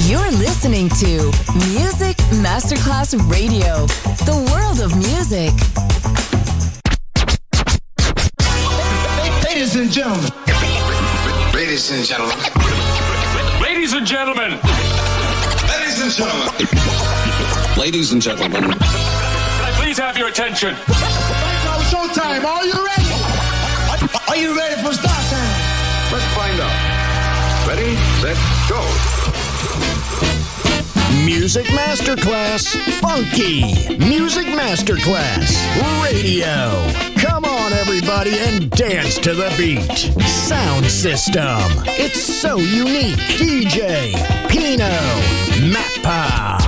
You're listening to Music Masterclass Radio, the world of music. Ladies and gentlemen. Ladies and gentlemen. Ladies and gentlemen. Ladies and gentlemen. Ladies and gentlemen. Can I please have your attention? Now showtime. Are you ready? Are you ready for start time? Let's find out. Ready, set, go. Music Masterclass Funky. Music Masterclass Radio. Come on, everybody, and dance to the beat. Sound system. It's so unique. DJ Pino Mappa.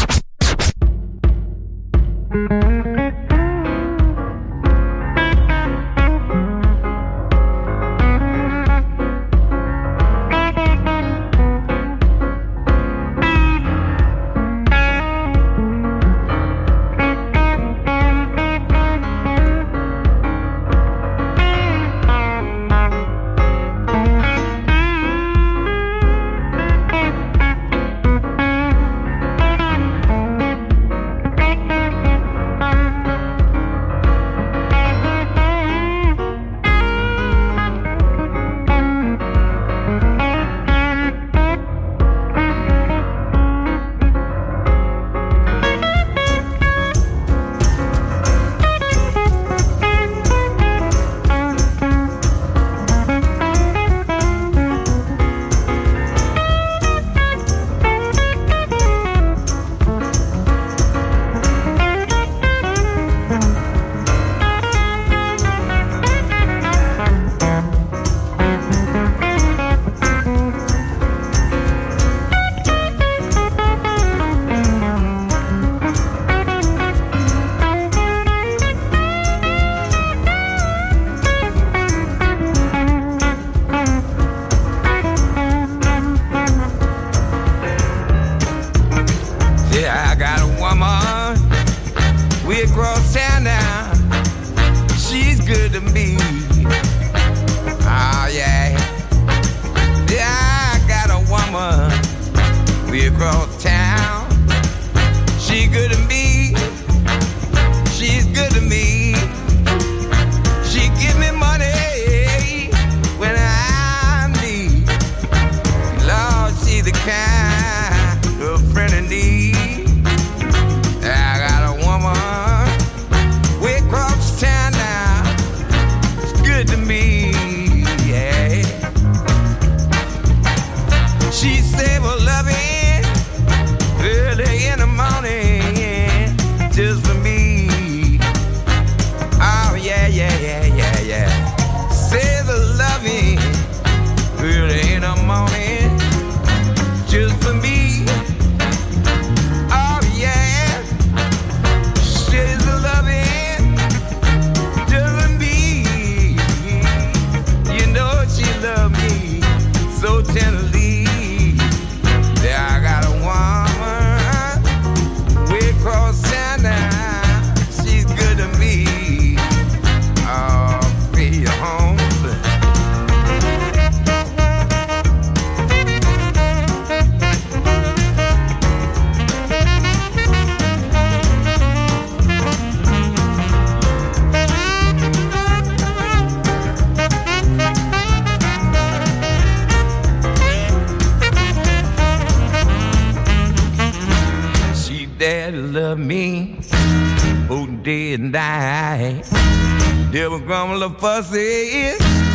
Fussy,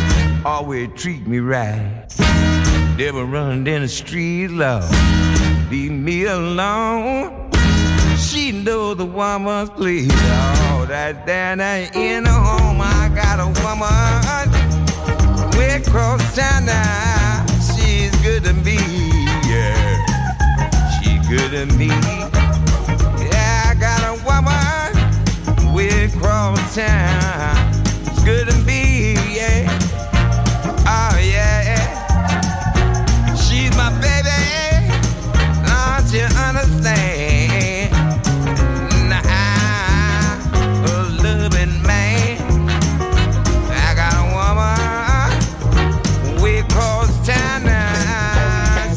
always treat me right. Never running in the street, love, leave me alone. She know the woman's please. Oh, that down in the home, I got a woman. Way across town now, she's good to me, yeah. She's good to me. Yeah, I got a woman. Way across town. Good to be, yeah. Oh, yeah. She's my baby. Don't you understand? Nah, a loving man. I got a woman way across town now.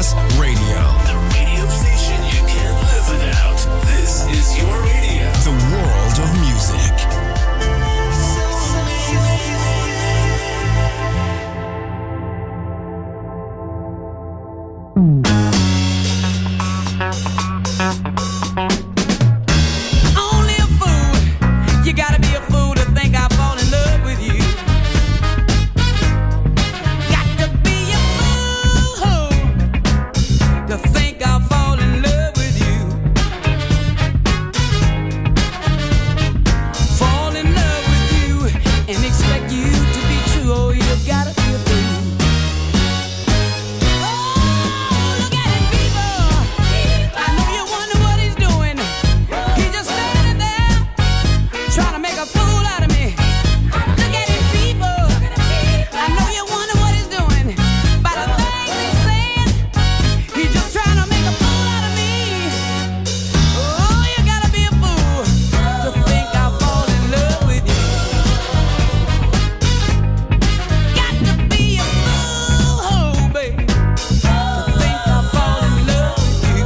Masterclass Radio. The radio station you can't live without. This is your radio. The world of music. Only a fool. You gotta be a fool to think I'll fall in love with you. Got to be a fool to think I'll fall in love with you. Fall in love with you and expect you to be true. Oh, you've gotta be a fool. Oh, look at him, people. I know you wonder what he's doing. He's just standing there trying to make a fool out of me. Look at him, people. I know you wonder what he's doing. By the things he's saying, he's just trying to make a fool out of me. Oh, you gotta be a fool to think I'll fall in love with you. Got to be a fool, baby, to think I'll fall in love with you.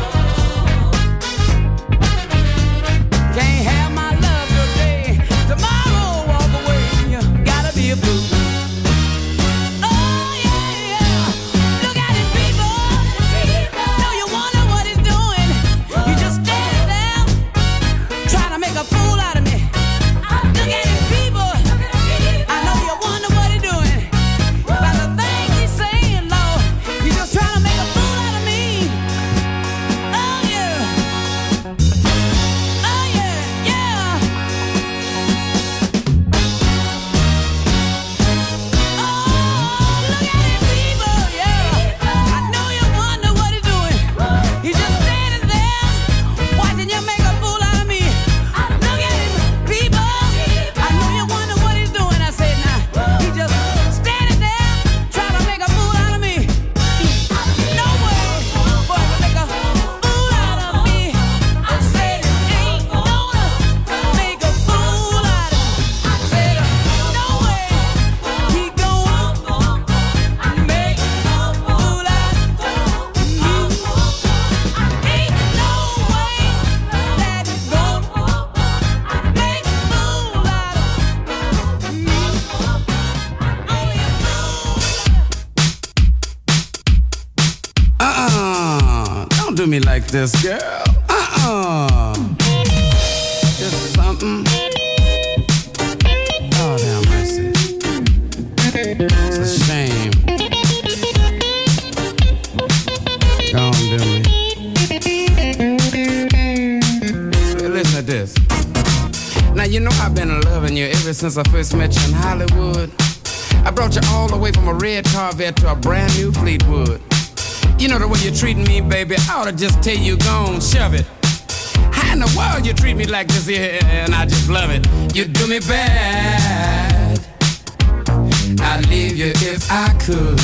Can't have my love today, tomorrow walk away. You gotta be a fool. Oh yeah, yeah. Look at it, people. Know you wonder what he's doing. You just standing there trying to make a fool out of me. Look at it, people. I know you wonder what he's doing. By the things he's saying, Lord, he's just trying to make a fool out of me. Oh yeah. Oh yeah, yeah. Oh, look at him, people, yeah. I know you wonder what he's doing. He's just standing there watching you make a fool out of me. Look at him, people. I know you wonder what he's doing. I said now, he's just standing there trying to make a fool out of me. No way, boy, to make a fool out of me. I said ain't gonna make a fool out of me. Said no way, he gonna make a fool out of me. Ain't no way that he's gonna make a fool out of me. Only a fool. Don't do me like this, girl. Just something. Oh, damn mercy. It's a shame. Don't do me. Listen to this. Now, you know I've been loving you ever since I first met you in Hollywood. I brought you all the way from a red Corvette to a brand new Fleetwood. You know the way you're treating me, baby, I ought to just tell you, go on, shove it. How in the world you treat me like this here, and I just love it. You do me bad, I'd leave you if I could.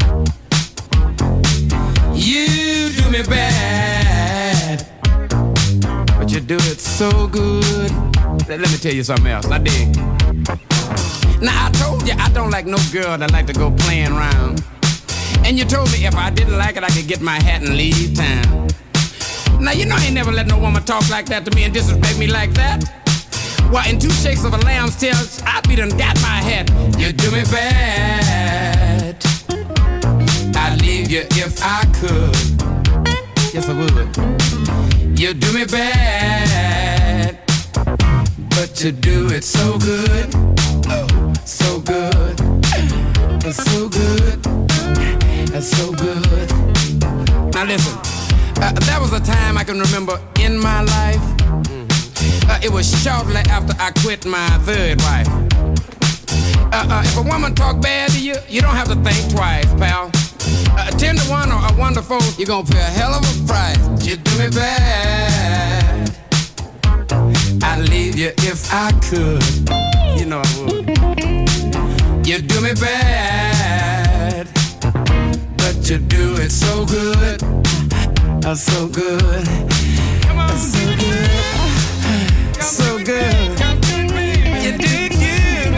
You do me bad, but you do it so good. Let me tell you something else, I dig. Now I told you I don't like no girl that like to go playing around. And you told me if I didn't like it, I could get my hat and leave town. Now, you know I ain't never let no woman talk like that to me and disrespect me like that. Why, in 2 shakes of a lamb's tail, I'd be done got my hat. You do me bad, I'd leave you if I could. Yes, I would. You do me bad, but you do it so good. Oh, so good. It's so good. It's so good. Now listen, there was a time I can remember in my life. It was shortly after I quit my third wife. If a woman talk bad to you, you don't have to think twice, pal. 10 to 1 or a 1 to 4, you're gonna pay a hell of a price. You do me bad, I'd leave you if I could. You know I would. You do me bad, but you do it so good. So good. Come on, so good. So good. You do it good,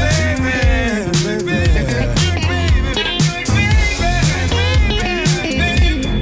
baby.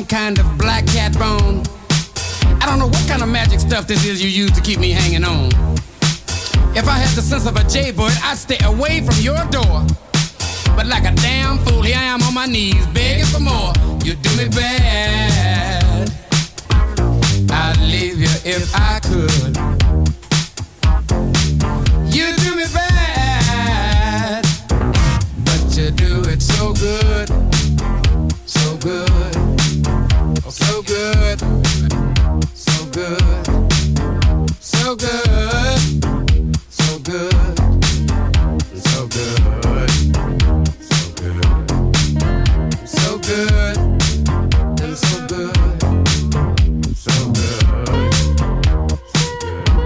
kind of black cat bone. I don't know what kind of magic stuff this is you use to keep me hanging on. If I had the sense of a jaybird, I'd stay away from your door. But like a damn fool, here I am on my knees, begging for more. You do me bad. I'd leave you if I could. You do me bad, but you do it so good, so good, so good, so good, so good, so good, so good, so good, and so good, so good.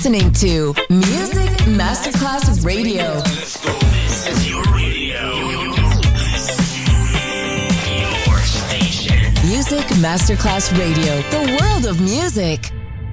listening to Music Masterclass Radio. Let's go. This is your radio. Your station. Music Masterclass Radio. The world of music.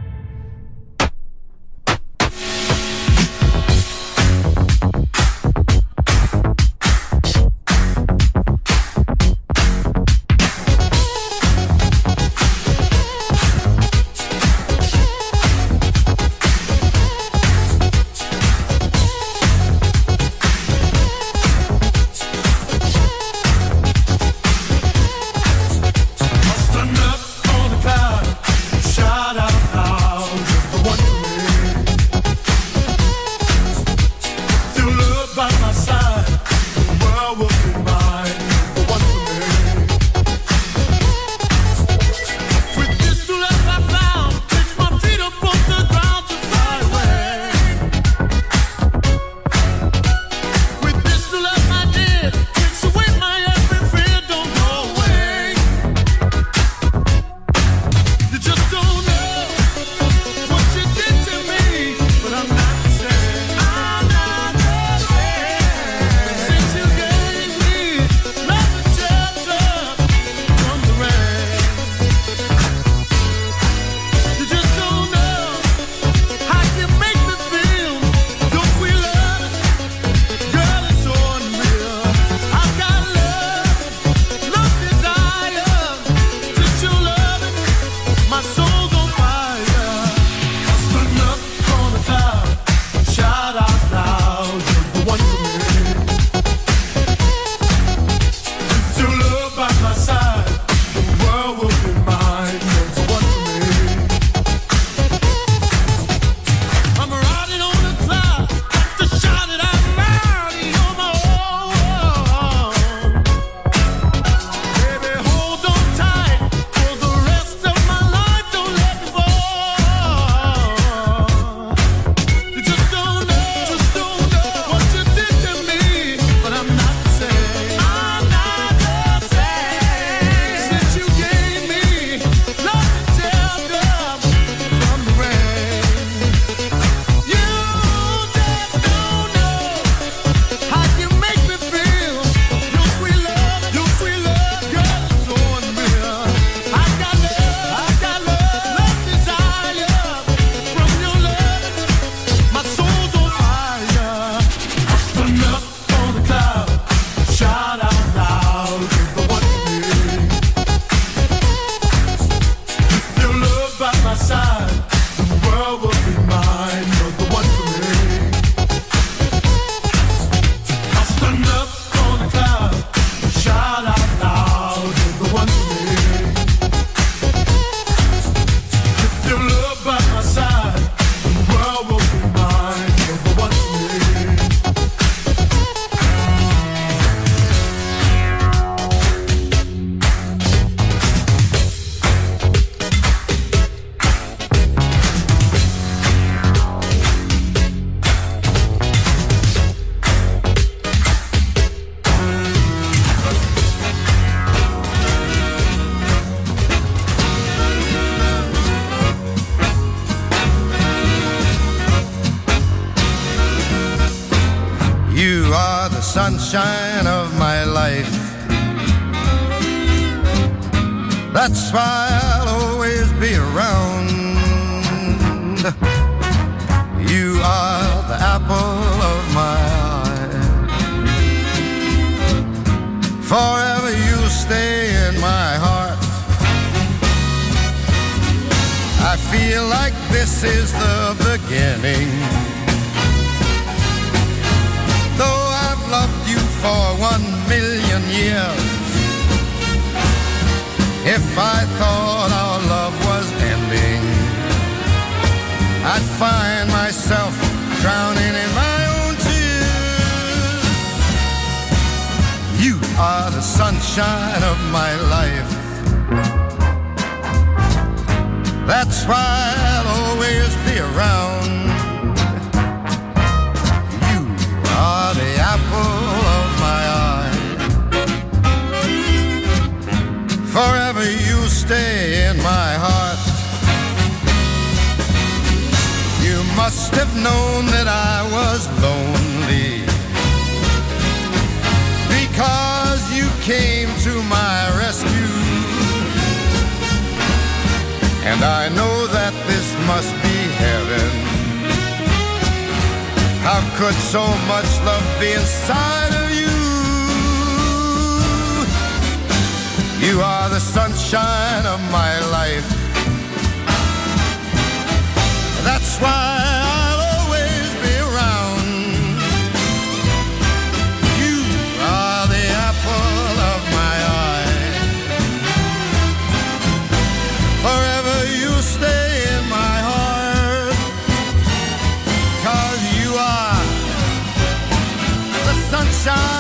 Sunshine of my life. That's why I'll always be around. You are the apple of my eye. Forever you stay in my heart. I feel like this is the beginning. Though I've loved you for 1,000,000 years, if I thought our love was ending, I'd find myself drowning in my own tears. You are the sunshine of my life. That's why I'll always be around. You are the apple of my eye. Forever you stay in my heart. You must have known that I was lonely, because you came to my rescue. And I know that this must be heaven. How could so much love be inside of you? You are the sunshine of my life. That's why I'll always be around. You are the apple of my eye. Forever you stay in my heart, 'cause you are the sunshine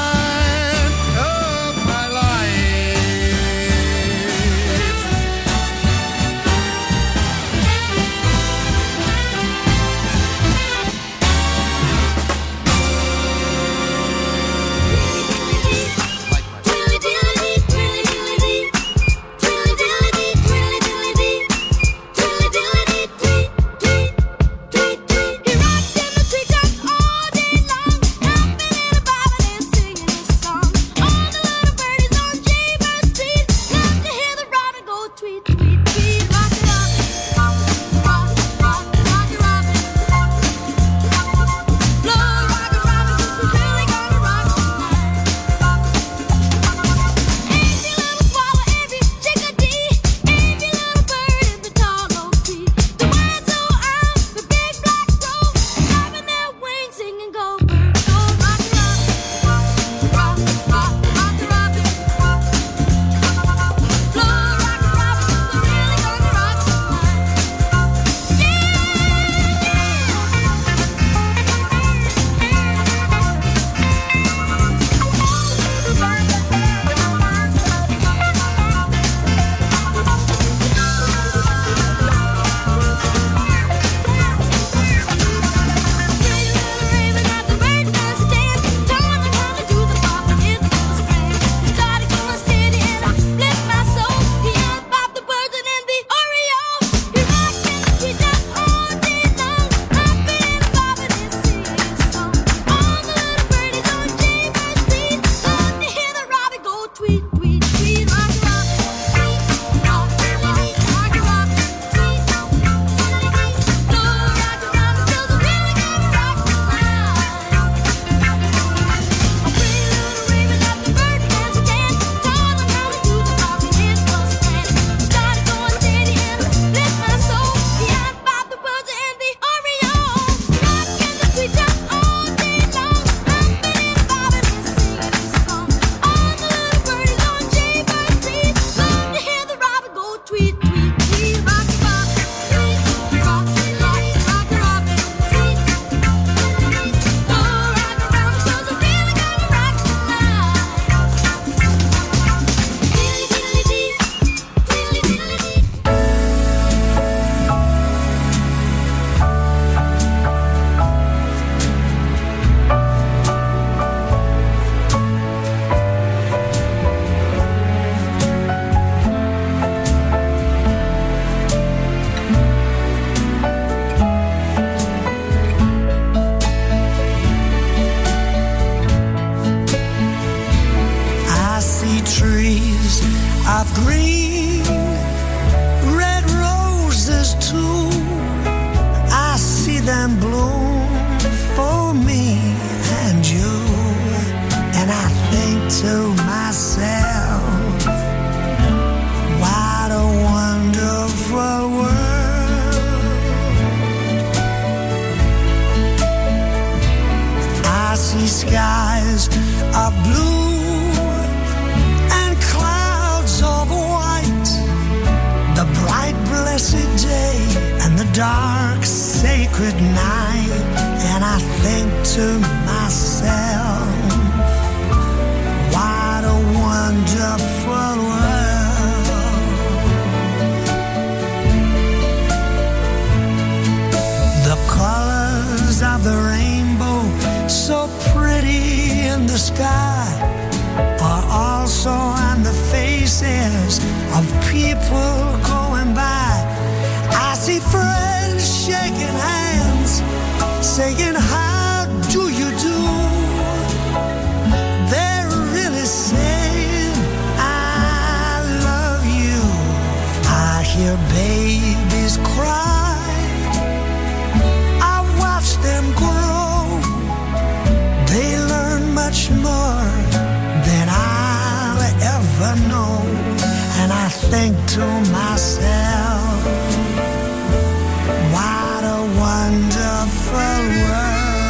of people going by. I see friends shaking hands think to myself, what a wonderful world.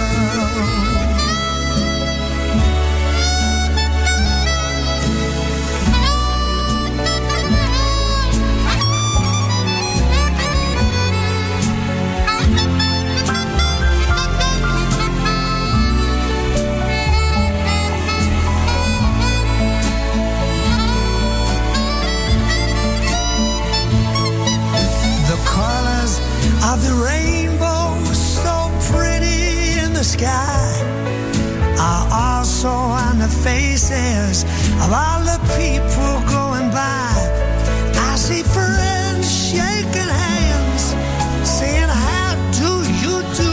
Of the rainbow, so pretty in the sky, are also on the faces of all the people going by. I see friends shaking hands, saying, how do you do?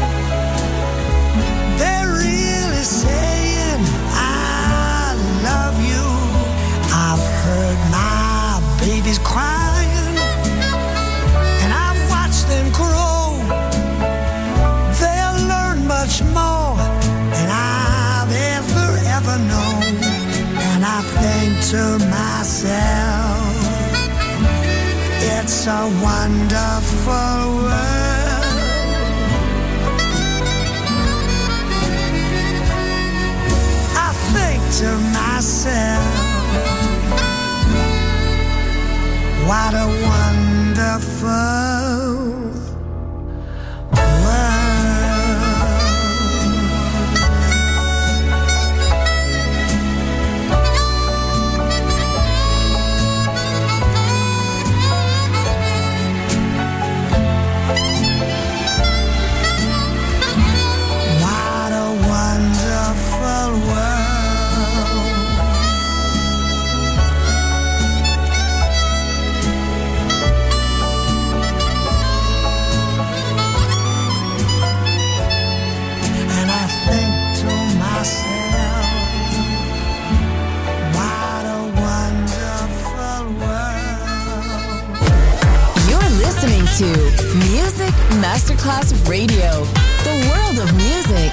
They're really saying, I love you. I've heard my babies cry, them grow. They'll learn much more than I've ever known. And I think to myself, it's a wonderful world. I think to myself, what a wonderful to Music Masterclass Radio, the world of music.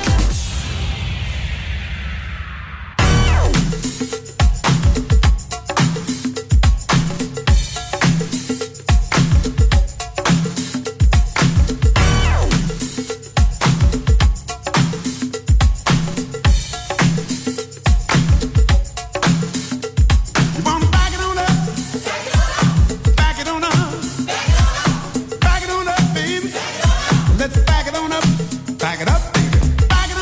Let's back it on up, baby. Back it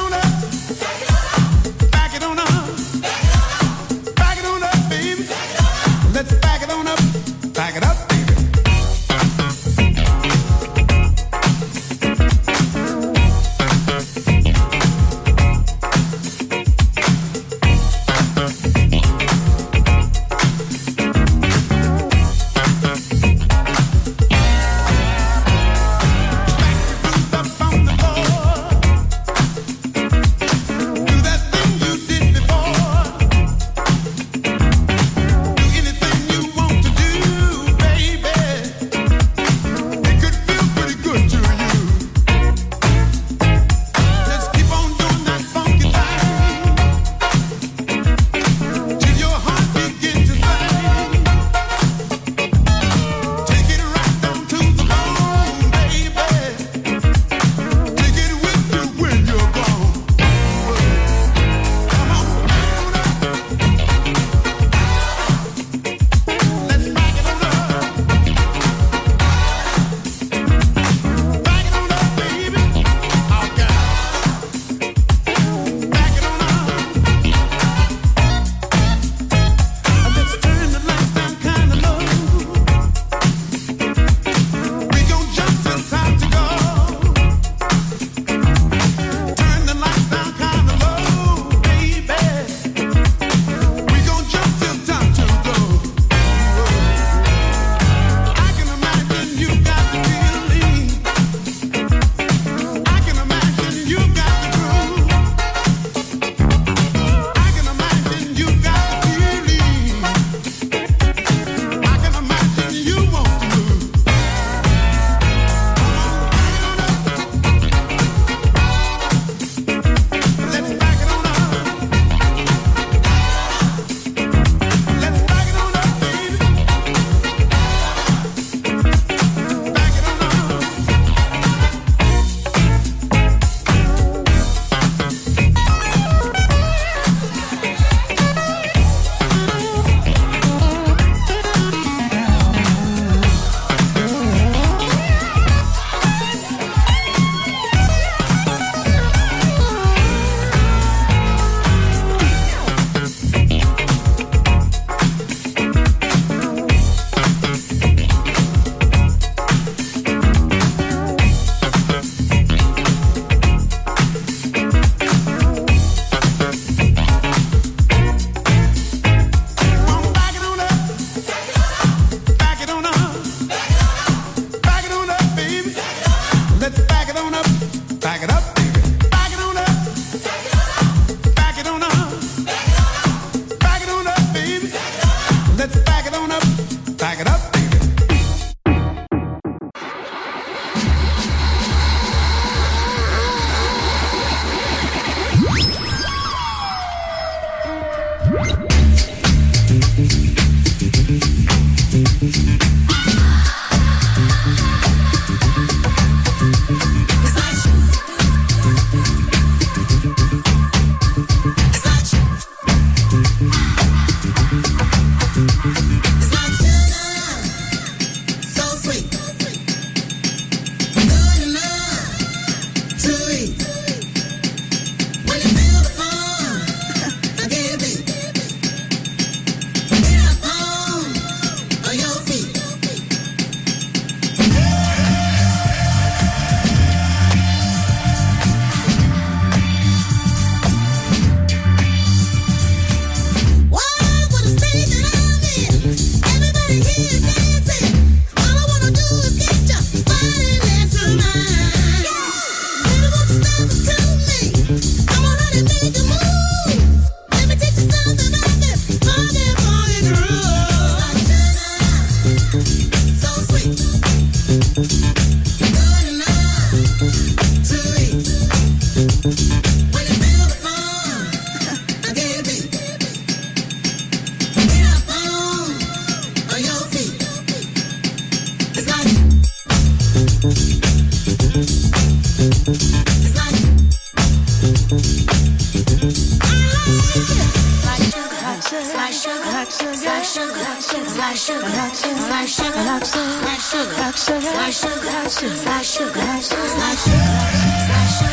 like sugar, like sugar, like sugar, like sugar, like sugar, like sugar, like sugar, like sugar, like sugar, like sugar, like sugar, like sugar, like sugar, like sugar.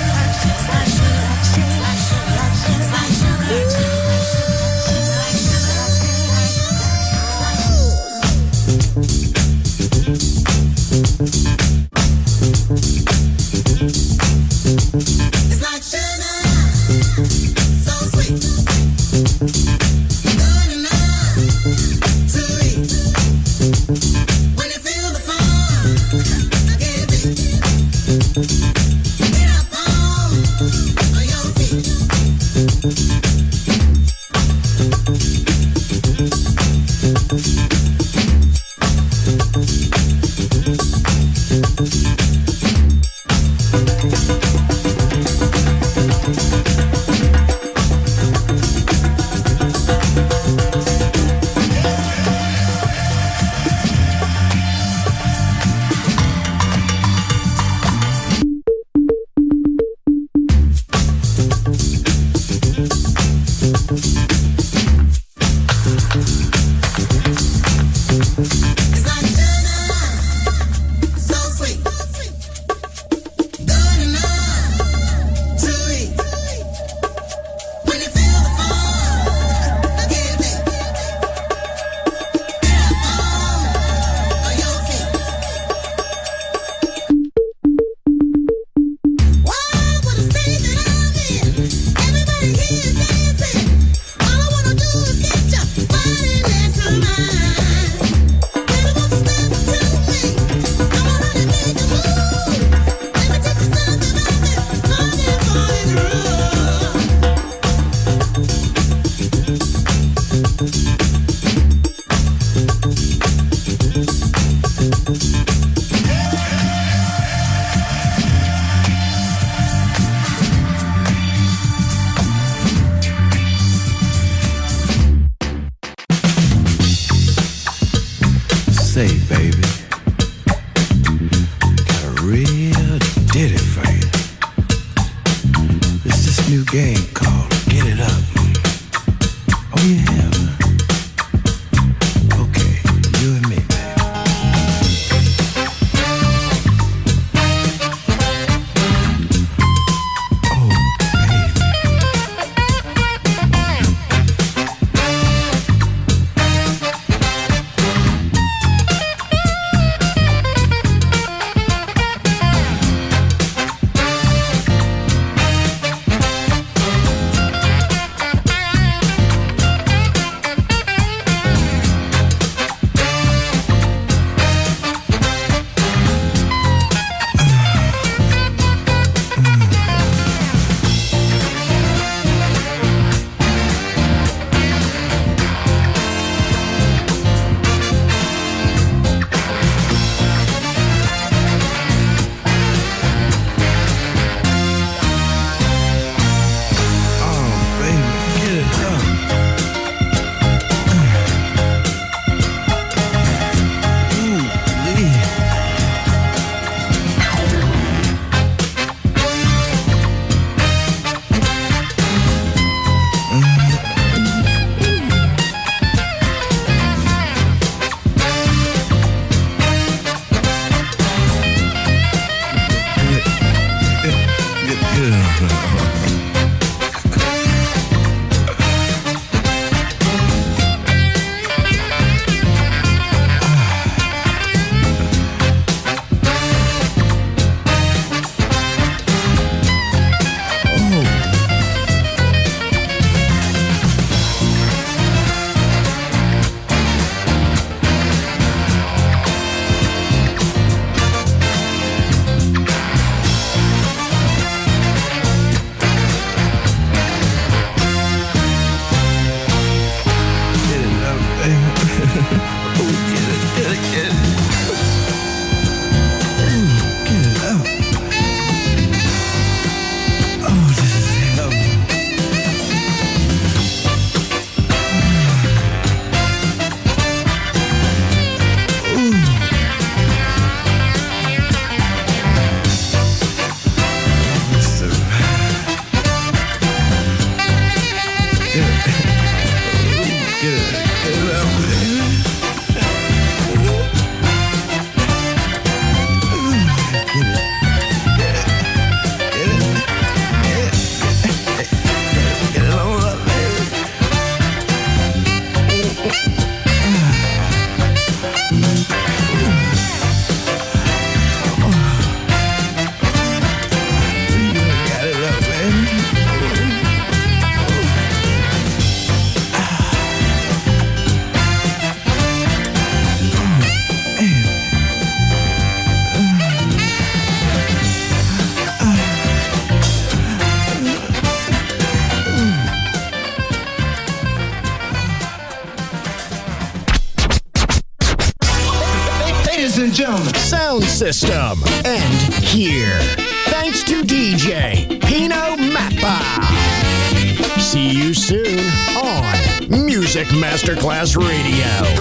It's like sugar, so sweet, good enough to eat. When you feel the fun, I can't beat. Get up on your feet. ladies and gentlemen. Sound system. And here. Thanks to DJ Pino Mappa. See you soon on Music Masterclass Radio.